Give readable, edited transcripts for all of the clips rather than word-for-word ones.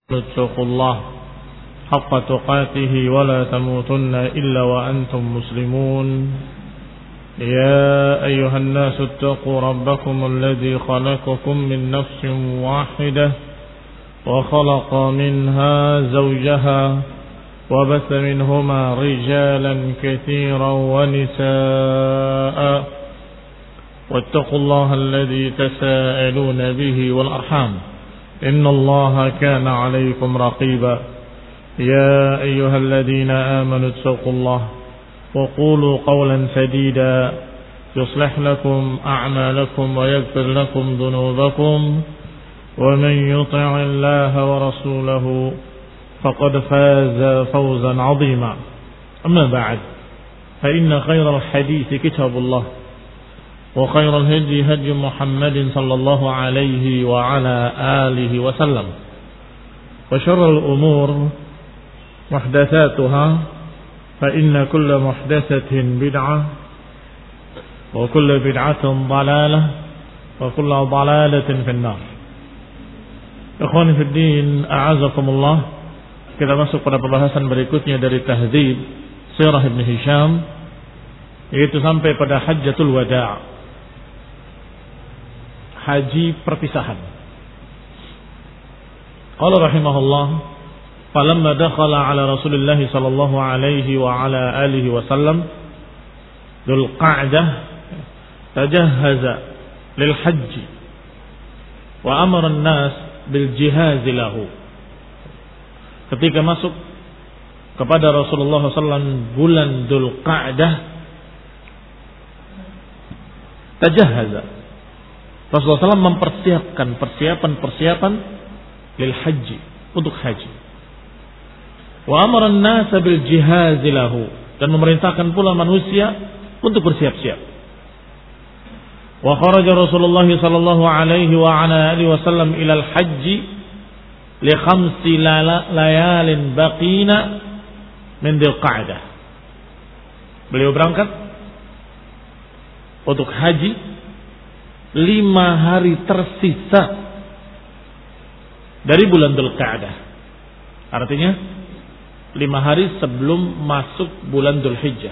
اتقوا الله حق تقاته ولا تموتن إلا وأنتم مسلمون يا أيها الناس اتقوا ربكم الذي خلقكم من نفس واحدة وخلق منها زوجها وبث منهما رجالا كثيرا ونساء واتقوا الله الذي تساءلون به والأرحام إن الله كان عليكم رقيبا يا أيها الذين آمنوا اتقوا الله وقولوا قولا سديدا يصلح لكم أعمالكم ويغفر لكم ذنوبكم ومن يطع الله ورسوله فقد فاز فوزا عظيما أما بعد فإن خير الحديث كتاب الله وخير الهدي هدي محمد صلى الله عليه وعلى آله وسلم وشر الأمور محدثاتها فإن كل محدثة بدعة وكل بدعة ضلالة وكل ضلالة في النار. Ikhwani fi din, a'azakumullah. Kita masuk pada pembahasan berikutnya dari Tahdzib Sirah Ibn Hisham, yaitu sampai pada Hajjatul Wada', haji perpisahan. Qala rahimahullah, falamma dakhala ala Rasulillah sallallahu alaihi wa ala alihi wasallam Dzul Qa'dah tajahhaza lil hajj wa amara an-nas bil jihaz lahu. Ketika masuk kepada Rasulullah sallallahu alaihi wasallam bulan Dzul Qa'dah, tajahhaza, Rasulullah SAW mempersiapkan persiapan lil haji, untuk haji. Wa amara an-nasa bil jihaz lahu, dan memerintahkan pula manusia untuk bersiap-siap. Wa kharaja Rasulullah sallallahu alaihi wa ala alihi wasallam ila al-hajj li 5 layalin baqina min Dzul Qa'dah. Beliau berangkat untuk haji 5 hari tersisa dari bulan Dzul Qa'dah. Artinya 5 hari sebelum masuk bulan Dzul Hijjah.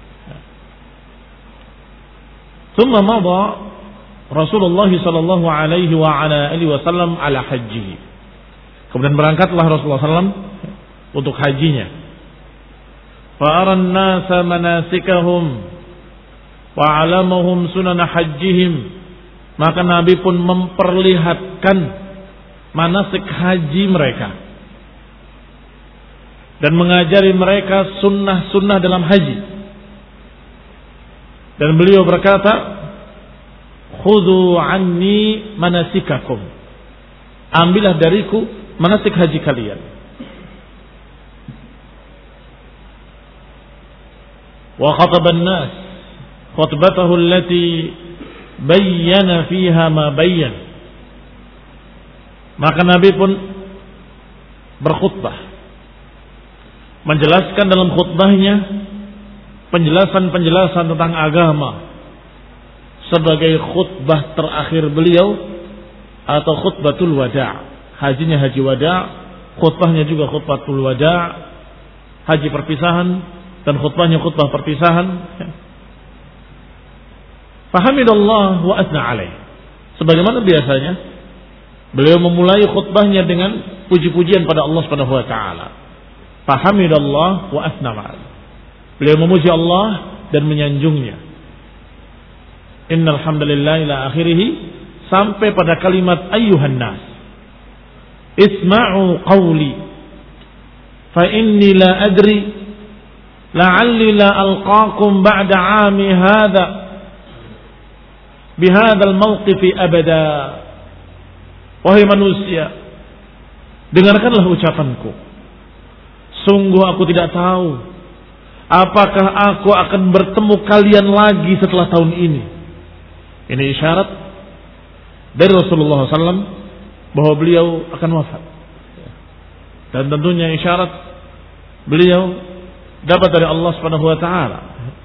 Thumma madha Rasulullah sallallahu alaihi wa ala alihi wasallam ala hajjihi. Kemudian berangkatlah Rasulullah sallallahu untuk hajinya. Fa aran nasa manasikahum wa 'alamahum sunan hajjihim. Maka Nabi pun memperlihatkan manasik haji mereka dan mengajari mereka sunnah-sunnah dalam haji. Dan beliau berkata, khudhu anni manasikakum, ambillah dariku manasik haji kalian. Wa khataban nas khutbatahu allati bayyana fiha ma bayyan. Maka Nabi pun berkhutbah, menjelaskan dalam khutbahnya penjelasan-penjelasan tentang agama sebagai khutbah terakhir beliau atau khutbatul wada'. Hajinya haji wada', khutbahnya juga khutbatul wada', haji perpisahan, dan khutbahnya khutbah perpisahan. Fahamidallah wa asna alaih. Sebagaimana biasanya beliau memulai khutbahnya dengan puji-pujian pada Allah Subhanahu wa taala. Fahamidallah wa asna alaih. Beliau memuji Allah dan menyanjungnya. Innal hamdalillah ila akhirih, sampai pada kalimat ayyuhan nas isma'u qawli fa inni la adri la'alli la alqaakum ba'da 'ami hadha bihadzal mauqifi abada. Wahai manusia, dengarkanlah ucapanku. Sungguh aku tidak tahu apakah aku akan bertemu kalian lagi setelah tahun ini. Ini isyarat dari Rasulullah SAW bahwa beliau akan wafat. Dan tentunya isyarat beliau dapat dari Allah Subhanahu wa taala.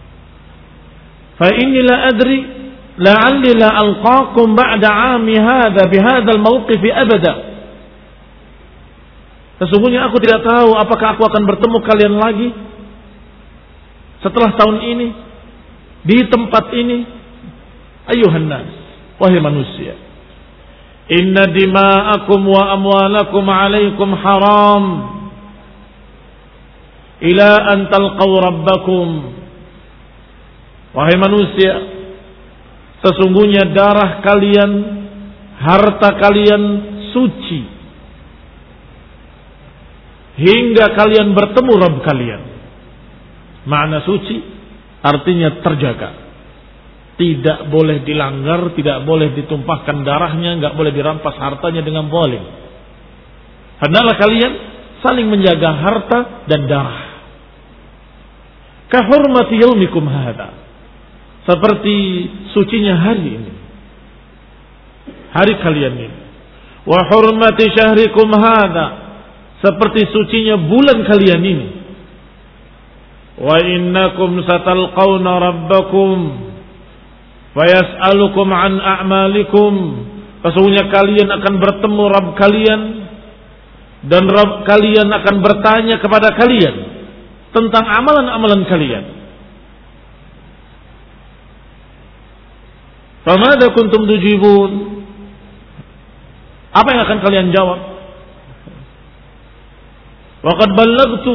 Fa inni la adri la'alli la alqaakum ba'da 'ami hadha bihadzal mawqif abada. Sesungguhnya aku tidak tahu apakah aku akan bertemu kalian lagi setelah tahun ini di tempat ini. Ayuhan nas, wahai manusia, inna dima'akum wa amwalakum alaikum haram ila an talqaw rabbakum. Wahai manusia, sesungguhnya darah kalian, harta kalian suci hingga kalian bertemu Rabb kalian. Makna suci artinya terjaga, tidak boleh dilanggar, tidak boleh ditumpahkan darahnya, enggak boleh dirampas hartanya dengan zalim. Hendaklah kalian saling menjaga harta dan darah. Ka hurmati yaumikum hadza, seperti sucinya hari ini, hari kalian ini. Wa hurmati syahrikum hadza, seperti sucinya bulan kalian ini. Wa innakum satalqawna rabbakum fayas'alukum an a'malikum, sesungguhnya kalian akan bertemu Rabb kalian dan Rabb kalian akan bertanya kepada kalian tentang amalan-amalan kalian. Famada kuntum tujibun, apa yang akan kalian jawab? Waqad ballagtu,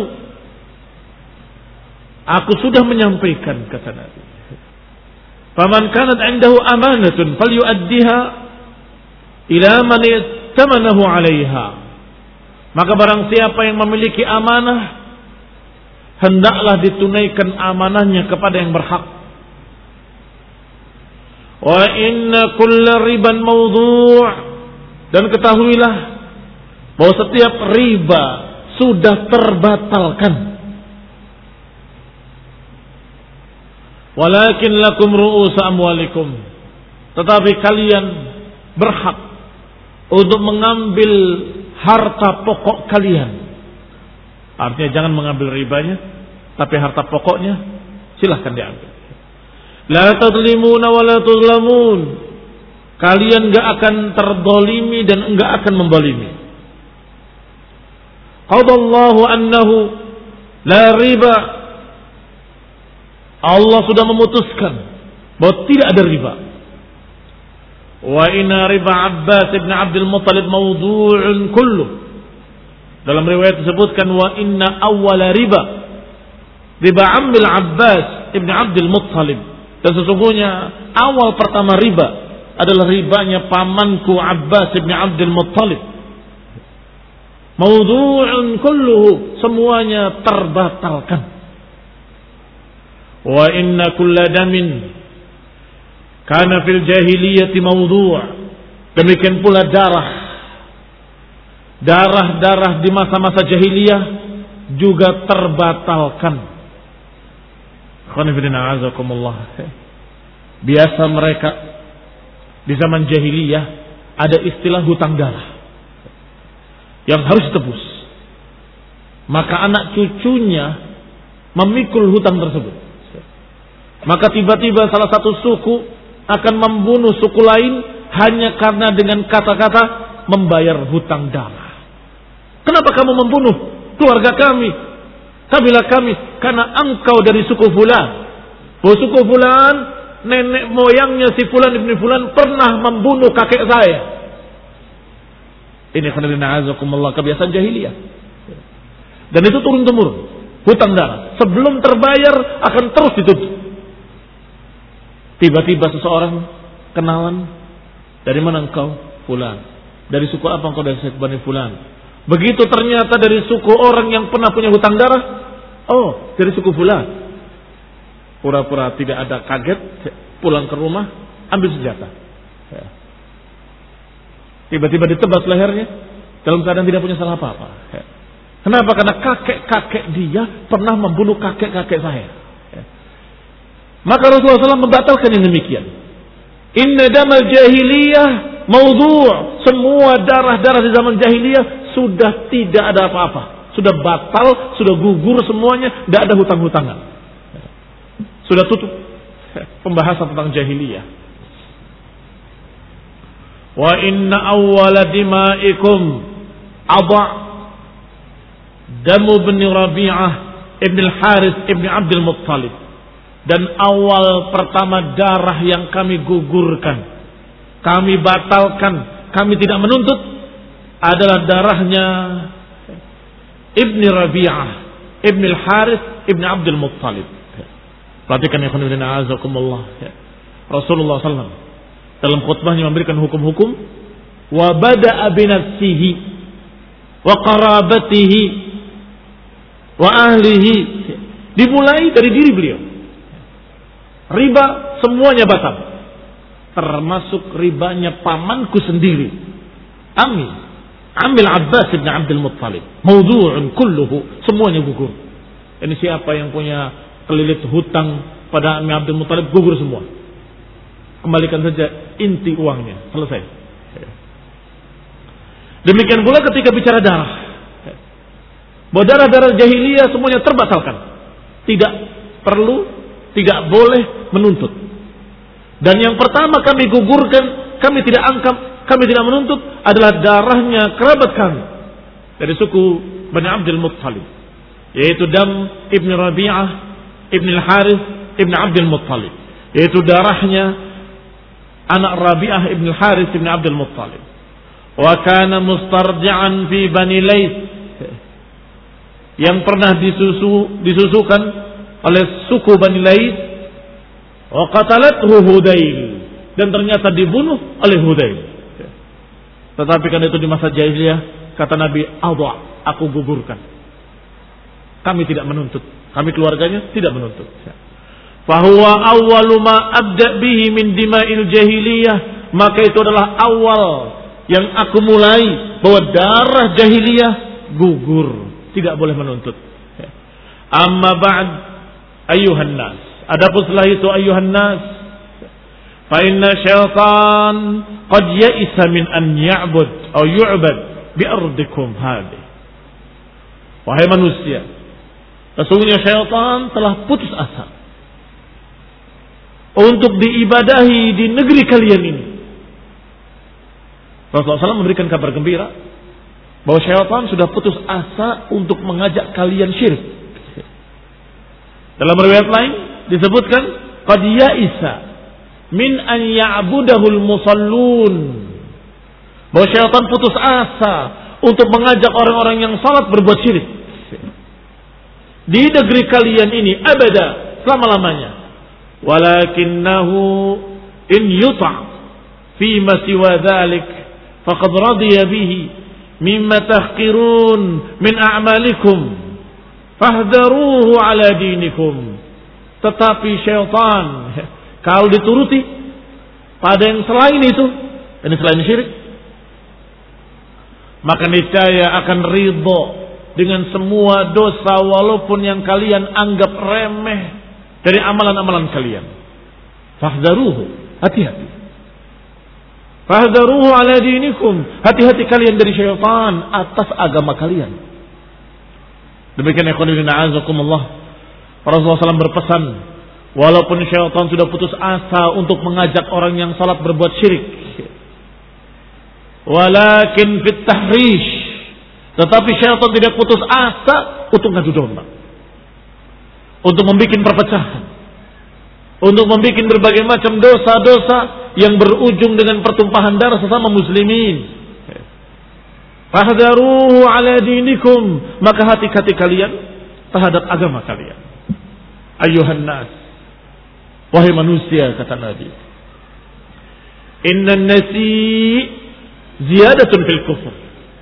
aku sudah menyampaikan, kata Nabi. Faman kanat indahu amanatun falyu'addiha ila man ittamanahu 'alaiha. Maka barang siapa yang memiliki amanah, hendaklah ditunaikan amanahnya kepada yang berhak. Wa inna kulla riban mawdu', dan ketahuilah bahwa setiap riba sudah terbatalkan. Walakin lakum ru'us amwalikum, tetapi kalian berhak untuk mengambil harta pokok kalian. Artinya jangan mengambil ribanya, tapi harta pokoknya silahkan diambil. La tadlimuna wa la tuzlamun, kalian enggak akan terdolimi dan enggak akan membolimi. Qadallahu annahu la riba, Allah sudah memutuskan bahwa tidak ada riba. Wa inna riba Abbas ibn Abdul Muttalib mawdu'un kulluh. Dalam riwayat disebutkan wa inna awwala riba Ammil Abbas ibn Abdul Muttalib, dan sesungguhnya awal pertama riba adalah ribanya pamanku Abbas ibn Abdul Muttalib. Mawdu'un kulluhu, semuanya terbatalkan. Wa inna kulla damin kana fil jahiliyati mawdu', demikian pula darah di masa-masa jahiliyah juga terbatalkan. Biasa mereka di zaman jahiliyah ada istilah hutang darah yang harus ditebus, maka anak cucunya memikul hutang tersebut. Maka tiba-tiba salah satu suku akan membunuh suku lain hanya karena dengan kata-kata membayar hutang darah. Kenapa kamu membunuh keluarga kami, kabilah kami? Karena engkau dari suku fulan. Oh, suku fulan, nenek moyangnya si fulan ibn fulan pernah membunuh kakek saya. Ini kebiasaan jahiliyah. Dan itu turun-temurun, hutang darah. Sebelum terbayar akan terus ditutup. Tiba-tiba seseorang kenalan, dari mana engkau? Fulan. Dari suku apa engkau? Dari suku Bani Fulan. Begitu ternyata dari suku orang yang pernah punya hutang darah. Oh, dari suku Fulan. Pura-pura tidak ada, kaget, pulang ke rumah, ambil senjata. Tiba-tiba ditebas lehernya dalam keadaan tidak punya salah apa-apa. Kenapa? Karena kakek-kakek dia pernah membunuh kakek-kakek saya. Maka Rasulullah SAW membatalkan yang demikian. Inna damal jahiliyah mawdu', semua darah-darah di zaman jahiliyah sudah tidak ada apa-apa, sudah batal, sudah gugur semuanya, tidak ada hutang-hutangan, sudah tutup pembahasan tentang jahiliyah. Wa inna awwala dima'ikum adha', damu bin Rabi'ah ibn al-Harith ibn Abdul Muttalib. Dan awal pertama darah yang kami gugurkan, kami batalkan, kami tidak menuntut adalah darahnya Ibn Rabi'ah ibn al-Harith ibn Abdul Muttalib. Perhatikan ya khonibina a'azakumullah. Rasulullah SAW dalam khutbahnya memberikan hukum-hukum. Wa bada'a binafsihi wa qarabatihi wa ahlihi. Dimulai dari diri beliau. Riba semuanya batal, termasuk ribanya pamanku sendiri, Amil Abbas bin Abdul Muttalib. Mawdu'un kulluhu, semuanya gugur. Ini siapa yang punya kelilit hutang pada Amil Abdul Muttalib, gugur semua. Kembalikan saja inti uangnya, selesai. Demikian pula ketika bicara darah, bahwa darah-darah jahiliyah semuanya terbatalkan. Tidak perlu, tidak boleh menuntut. Dan yang pertama kami gugurkan, kami tidak angkat, kami tidak menuntut adalah darahnya kerabat kami dari suku Bani Abdul Muttalib, yaitu Dam ibn Rabi'ah ibn al-Harith ibn Abdul Muttalib, yaitu darahnya anak Rabi'ah ibn al-Harith ibn Abdul Muttalib. Wa kana mustarji'an fi Bani Laits, yang pernah disusukan oleh suku Bani Laits. Wa qatalathu Hudayl, dan ternyata dibunuh oleh Hudayl. Tetapi kan itu di masa jahiliyah, kata Nabi, "Adha, aku gugurkan." Kami tidak menuntut, kami keluarganya tidak menuntut. Fahuwa awwalu ma abda bihi min dima'il jahiliyah, maka itu adalah awal yang aku mulai bahwa darah jahiliyah gugur, tidak boleh menuntut. Amma ba'd ayyuhan nas, adapun setelah itu ayyuhan nas, fa inna syaitan qad ya'isa min an ya'bud atau yu'bad bi ardikum hadhihi. Wahai manusia, sesungguhnya syaitan telah putus asa untuk diibadahi di negeri kalian ini. Rasulullah SAW memberikan kabar gembira bahwa syaitan sudah putus asa untuk mengajak kalian syirik. Dalam riwayat lain disebutkan qad ya'isa min an ya'budahul musallun, bahwa syaitan putus asa untuk mengajak orang-orang yang salat berbuat syirik di negeri kalian ini abada, selama-lamanya. Walakinnahu in yuta' fi ma siwa dzalik faqad radiya bihi mimma tahqirun min a'malikum fahdharuhu ala dinikum. Tetapi syaitan kalau dituruti pada yang selain itu, ini selain syirik, maka niscaya akan ridho dengan semua dosa walaupun yang kalian anggap remeh dari amalan-amalan kalian. Fahdharuhu, hati-hati. Fahdharuhu ala dinikum, hati-hati kalian dari syaitan atas agama kalian. Demikian ya khonibina a'azakumullah, Rasulullah SAW berpesan, walaupun syaitan sudah putus asa untuk mengajak orang yang salat berbuat syirik, walakin fit tahrish, tetapi syaitan tidak putus asa untuk ngadu domba, untuk membuat perpecahan, untuk membuat berbagai macam dosa-dosa yang berujung dengan pertumpahan darah sesama muslimin. Fahdharuhu ala dinikum, maka hati-hati kalian terhadap agama kalian. Ayuhan nas, wahai manusia, kata Nabi, innan nasi ziyadatun fil kufr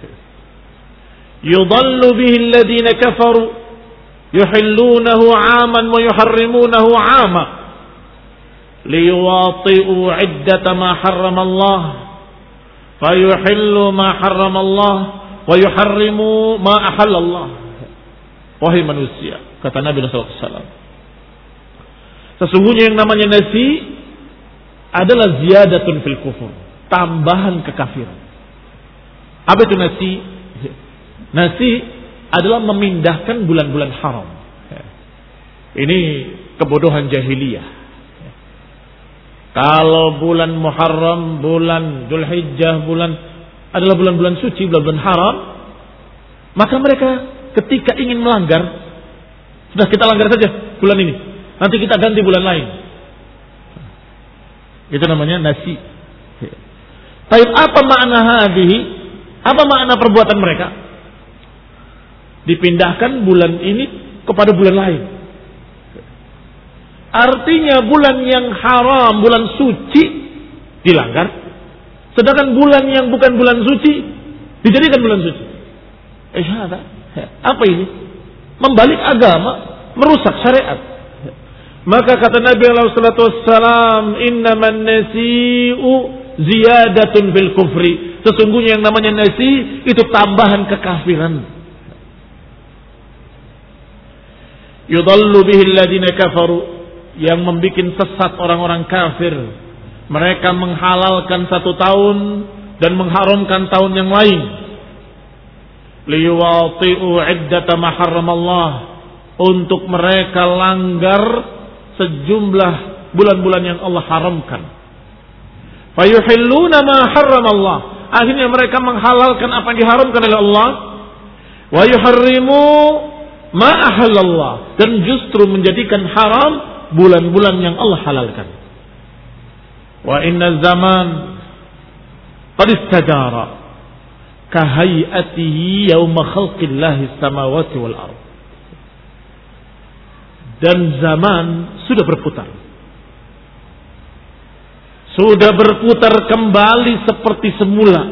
yudallu bihi alladhina kafaru yuhillunahu 'aman wa yuharrimunahu 'ama liyuwati'u 'iddata ma harrama Allah fayuhillu ma harrama Allah wa yuharrimu ma ahalla Allah. Wahai manusia, kata Nabi sallallahu alaihi wasallam, sesungguhnya yang namanya nasi adalah ziyadatun fil kufur, tambahan kekafiran. Apa itu nasi? Nasi adalah memindahkan bulan-bulan haram. Ini kebodohan jahiliyah. Kalau bulan Muharram, bulan Dzulhijjah, adalah bulan-bulan suci, bulan-bulan haram, maka mereka ketika ingin melanggar, sudah kita langgar saja bulan ini, nanti kita ganti bulan lain. Itu namanya nasi. Tapi apa makna hadhihi? Apa makna perbuatan mereka? Dipindahkan bulan ini kepada bulan lain. Artinya bulan yang haram, bulan suci dilanggar, sedangkan bulan yang bukan bulan suci dijadikan bulan suci. Apa ini? Membalik agama, merusak syariat. Maka kata Nabi sallallahu alaihi wasallam, "Innaman nasi'u ziyadatun fil kufri." Sesungguhnya yang namanya nasi itu tambahan kekafiran. Yudallu bihi alladziina kafaru, yang membikin sesat orang-orang kafir. Mereka menghalalkan satu tahun dan mengharamkan tahun yang lain. Liyuwati'u iddata ma harramallah, untuk mereka langgar sejumlah bulan-bulan yang Allah haramkan. Fayuhilluna ma harramallah, akhirnya mereka menghalalkan apa yang diharamkan oleh Allah. Wa yuharrimu ma ahallallah, dan justru menjadikan haram bulan-bulan yang Allah halalkan. Wa inna zaman qad istajara kahayatihi yawma khalqillahi samawati wal ard. Dan zaman sudah berputar. Sudah berputar kembali seperti semula.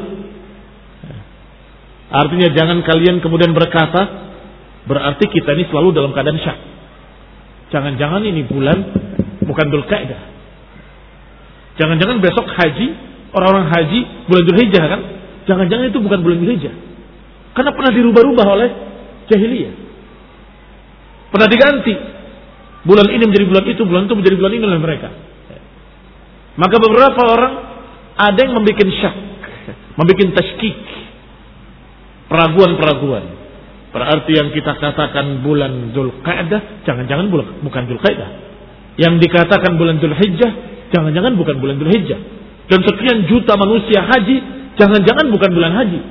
Artinya jangan kalian kemudian berkata, berarti kita ini selalu dalam keadaan syak. Jangan-jangan ini bulan bukan Dzulqa'dah. Jangan-jangan besok haji, orang-orang haji bulan Dzulhijjah kan? Jangan-jangan itu bukan bulan Dzulhijjah. Karena pernah dirubah-rubah oleh jahiliyah. Pernah diganti. Bulan ini menjadi bulan itu menjadi bulan ini oleh mereka. Maka beberapa orang ada yang membuat syak, membuat tashkik, peraguan-peraguan. Berarti yang kita katakan bulan Dzulqa'dah, jangan-jangan bukan Dzulqa'dah. Yang dikatakan bulan Dzulhijjah, jangan-jangan bukan bulan Dzulhijjah. Dan sekian juta manusia haji, jangan-jangan bukan bulan haji.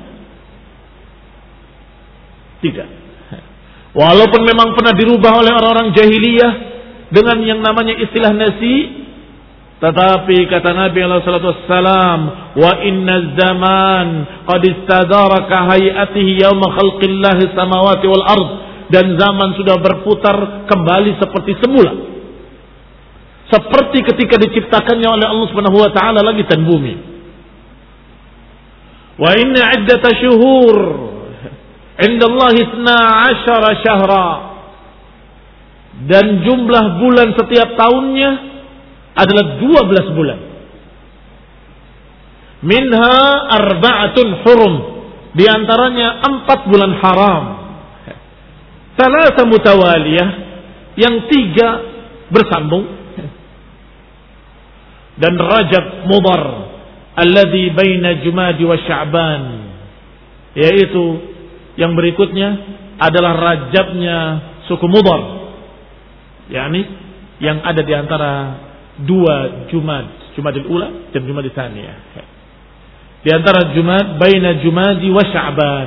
Tidak. Walaupun memang pernah dirubah oleh orang-orang jahiliyah dengan yang namanya istilah nasi, tetapi kata Nabi sallallahu alaihi wasallam, wa inna zaman qad istadara ka hayatihi yauma khalqillahi samawati wal ard, dan zaman sudah berputar kembali seperti semula, seperti ketika diciptakannya oleh Allah Subhanahu wa taala langit dan bumi. Wa inna iddata syuhur indallahi 12 syahra, dan jumlah bulan setiap tahunnya adalah 12 bulan. Minha arba'atun hurum, di antaranya 4 bulan haram. Thalatha mutawaliyah, yang 3 bersambung. Dan Rajab Mudhar alladhi baina Jumadi wa Sya'ban, yaitu yang berikutnya adalah Rajabnya suku Mudhar, yakni yang ada di antara 2 Jumadil Ula dan Jumadil Tsaniyah. Di antara Jumad, baina Jumadi wa Sya'ban.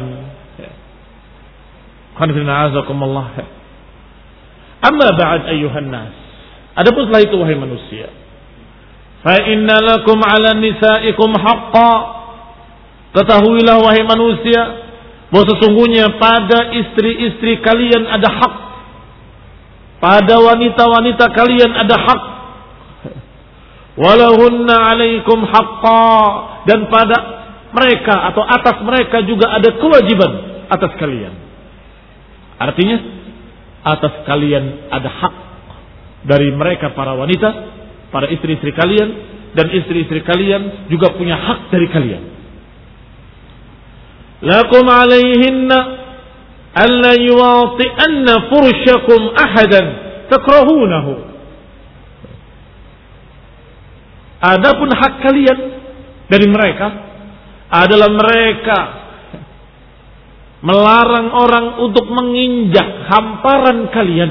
Qanifina azakumullah. Amma ba'd ayyuhan nas. Adapun setelah itu wahai manusia, fa inna lakum 'ala nisaikum haqqan. Ketahuilah wahai manusia bahwa sesungguhnya pada istri-istri kalian ada hak. Pada wanita-wanita kalian ada hak. Walahunna 'alaikum haqqan, dan pada mereka atau atas mereka juga ada kewajiban atas kalian. Artinya atas kalian ada hak dari mereka para wanita, para istri-istri kalian, dan istri-istri kalian juga punya hak dari kalian. Lakum 'alaihinna alla yuwati'anna fursyakum ahadan takrahunahu. Adapun hak kalian dari mereka adalah mereka melarang orang untuk menginjak hamparan kalian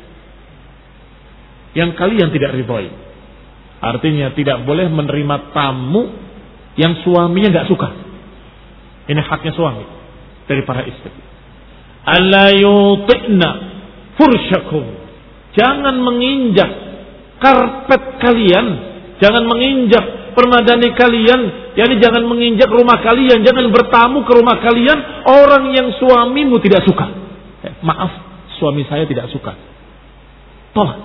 yang kalian tidak ridhoi. Artinya tidak boleh menerima tamu yang suaminya nggak suka. Ini haknya suami dari para istri. alla yuti'na fursyakum. Jangan menginjak karpet kalian, jangan menginjak permadani kalian, yakni jangan menginjak rumah kalian, jangan bertamu ke rumah kalian orang yang suamimu tidak suka. Maaf, suami saya tidak suka. Tolak.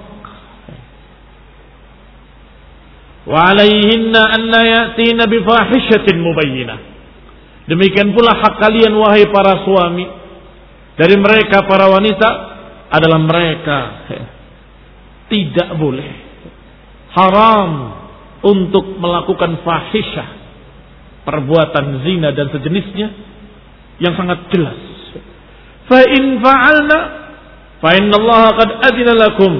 Wa alaihinna an la ya'tina bi fahishatin mubayyinah. Demikian pula hak kalian wahai para suami dari mereka para wanita adalah mereka tidak boleh, haram untuk melakukan fahisyah, perbuatan zina dan sejenisnya yang sangat jelas. Fa in fa'alna fa innallaha qad adzina lakum.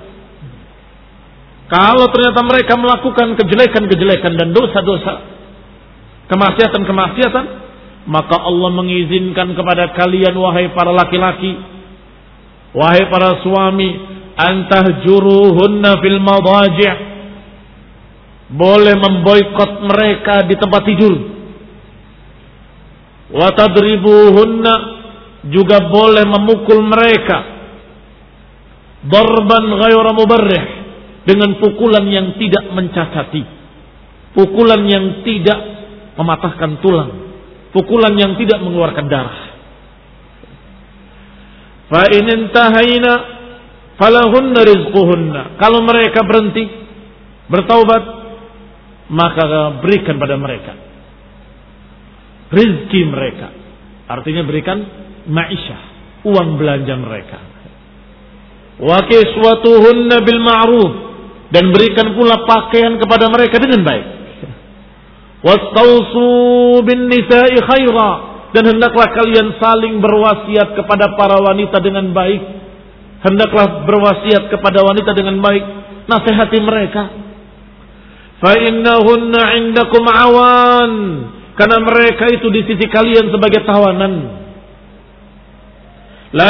Kalau ternyata mereka melakukan kejelekan-kejelekan dan dosa-dosa, kemaksiatan-kemaksiatan, maka Allah mengizinkan kepada kalian wahai para laki-laki, wahai para suami, antahjuruhunna fil madaji', boleh memboikot mereka di tempat tidur. Wa tadribuhunna, juga boleh memukul mereka. Darban ghayra mubarrih, dengan pukulan yang tidak mencacati, pukulan yang tidak mematahkan tulang, pukulan yang tidak mengeluarkan darah. Fa in intahaina falahunna rizquhunna. Kalau mereka berhenti bertaubat, maka berikan pada mereka rizki mereka, artinya berikan ma'isyah, uang belanja mereka. Wa kiswatuhunna bil ma'ruf, dan berikan pula pakaian kepada mereka dengan baik. Wastausu bin nisa'i khaira, dan hendaklah kalian saling berwasiat kepada para wanita dengan baik. Hendaklah berwasiat kepada wanita dengan baik, nasihati mereka. Fa innahunna 'indakum awan, karena mereka itu di sisi kalian sebagai tawanan. La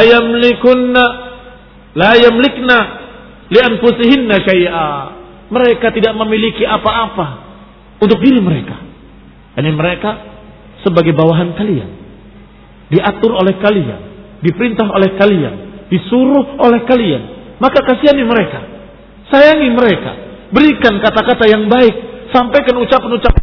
yamlikna li anfusihinna syai'a. Mereka tidak memiliki apa-apa untuk diri mereka. Ini mereka sebagai bawahan kalian, diatur oleh kalian, diperintah oleh kalian, disuruh oleh kalian. Maka kasihani mereka, sayangi mereka, berikan kata-kata yang baik, sampaikan ucapan-ucapan.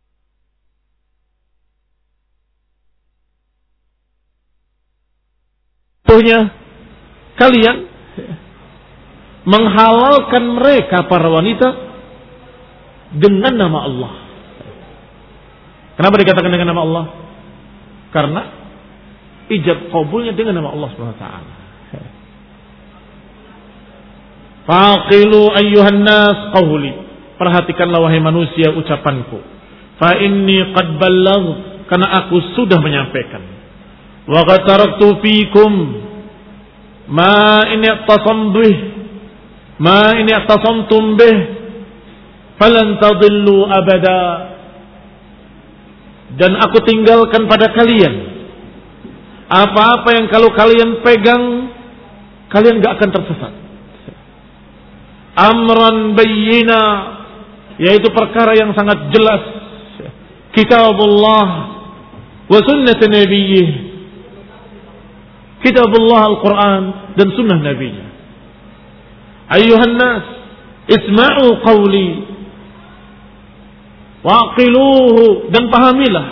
Punya kalian menghalalkan mereka para wanita dengan nama Allah. Kenapa dikatakan dengan nama Allah? Karena ijab qabulnya dengan nama Allah Subhanahu wa taala. Faqilu ayyuhan nas qawli. Perhatikanlah wahai manusia ucapanku. Fa inni qad ballaghtu, karena aku sudah menyampaikan. Wa qad taraktu fikum ma in i'tasamtum bih falan tadillu abada. Dan aku tinggalkan pada kalian apa-apa yang kalau kalian pegang, kalian gak akan tersesat. Amran bayyina, yaitu perkara yang sangat jelas. Kitabullah wa sunnat nabiyyih, kitabullah Al-Quran dan sunnah nabinya. Ayyuhan nas isma'u qawli waqiluhu, dan pahamilah.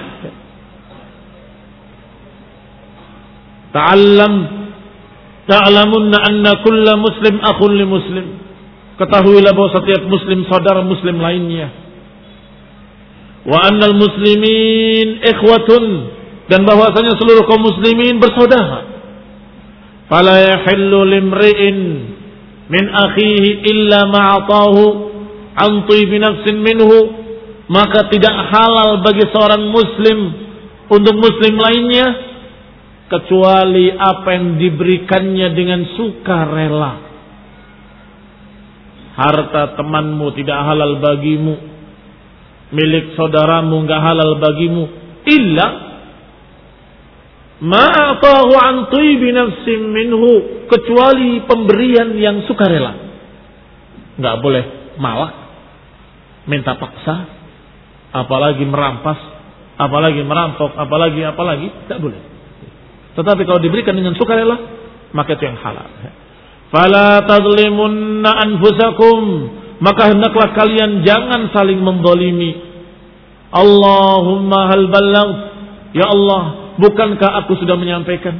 Ta'lamunna anna kulla muslim akhun li muslim. Ketahuilah bahwa setiap muslim saudara muslim lainnya. Wa annal muslimin ikhwatun, dan bahwasanya seluruh kaum muslimin bersaudara. Fala yahillu limri'in min akhihi illa ma'atahu an tibi nafsin minhu. Maka tidak halal bagi seorang muslim untuk muslim lainnya kecuali apa yang diberikannya dengan sukarela. Harta temanmu tidak halal bagimu, milik saudaramu enggak halal bagimu, illa ma'atahu an tibi nafsin minhu, kecuali pemberian yang sukarela. Enggak boleh malak, minta paksa, apalagi merampas, apalagi merampok, apalagi, tidak boleh. Tetapi kalau diberikan dengan sukarela, maka itu yang halal. Fala tazlimunna anfusakum, maka hendaklah kalian jangan saling menzalimi. Allahumma hal ballagh, ya Allah, bukankah aku sudah menyampaikan?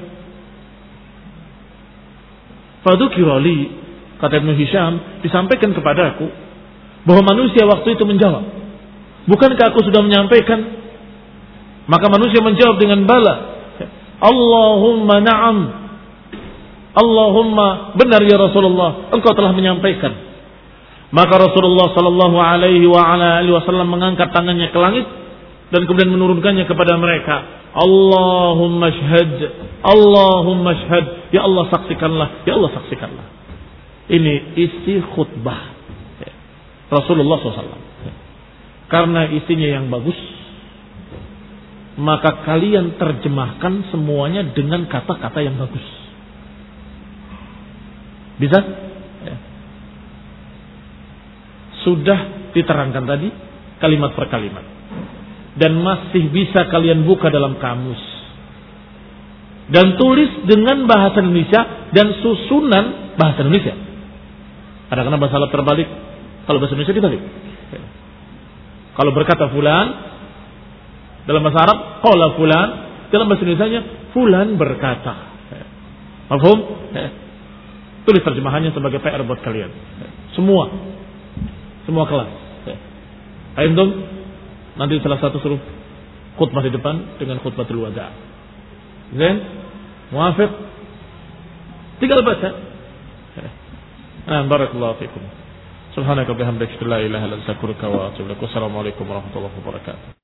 Fadzukira li, kata Ibnu Hisham, disampaikan kepadaku bahwa manusia waktu itu menjawab, bukankah aku sudah menyampaikan? Maka manusia menjawab dengan bala, Allahumma na'am, Allahumma benar ya Rasulullah, engkau telah menyampaikan. Maka Rasulullah sallallahu alaihi wasallam mengangkat tangannya ke langit dan kemudian menurunkannya kepada mereka. Allahumma shahad, Allahumma shahad, ya Allah saksikanlah, ya Allah saksikanlah. Ini isi khutbah Rasulullah SAW. Karena isinya yang bagus, maka kalian terjemahkan semuanya dengan kata-kata yang bagus. Bisa? Ya. Sudah diterangkan tadi kalimat per kalimat. Dan masih bisa kalian buka dalam kamus. Dan tulis dengan bahasa Indonesia dan susunan bahasa Indonesia. Kadang-kadang bahasa Arab terbalik, kalau bahasa Indonesia dibalik. Ya. Kalau berkata fulan, dalam bahasa Arab, qala fulan, dalam bahasa Indonesianya, fulan berkata. Ya. Mafhum? Ya. Tulis terjemahannya sebagai PR buat kalian. Semua kelas. Ayo dong, nanti salah satu suruh khutbah di depan dengan khutbatul wada'. Zain, muafiq, tinggal baca. Barakallahu fikum. Subhanaka bihamdika la ilaha illa anta astaghfiruka wa atubu ilaik. Wassalamualaikum warahmatullahi wabarakatuh.